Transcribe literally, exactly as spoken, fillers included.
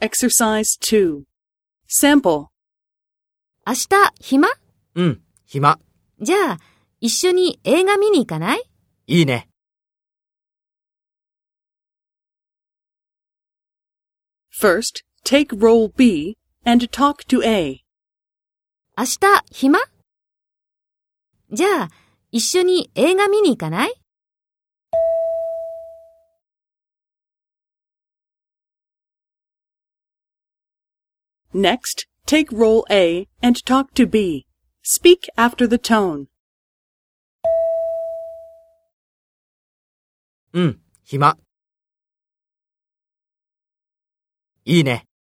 Exercise two. Sample. 明日暇？ うん、暇。 じゃあ、一緒に映画見に行かない？ いいね。 First, take role B and talk to A. 明日暇？じゃあ、一緒に映画見に行かない？ Next, take role A and talk to B. Speak after the tone. うん、暇。いいね。